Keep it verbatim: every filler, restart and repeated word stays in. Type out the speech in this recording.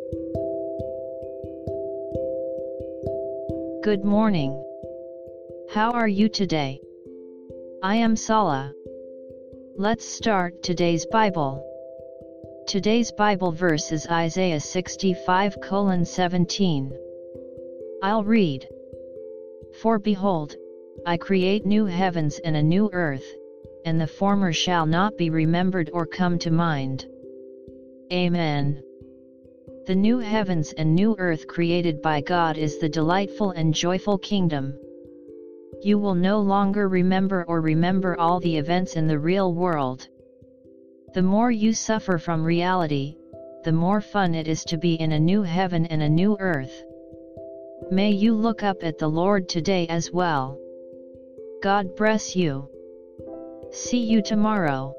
Good morning. How are you today? I am Sala. Let's start today's Bible. Today's Bible verse is Isaiah sixty-five seventeen. I'll read. For behold, I create new heavens and a new earth, and the former shall not be remembered or come to mind. Amen. The new heavens and new earth created by God is the delightful and joyful kingdom. You will no longer remember or remember all the events in the real world. The more you suffer from reality, the more fun it is to be in a new heaven and a new earth. May you look up at the Lord today as well. God bless you. See you tomorrow.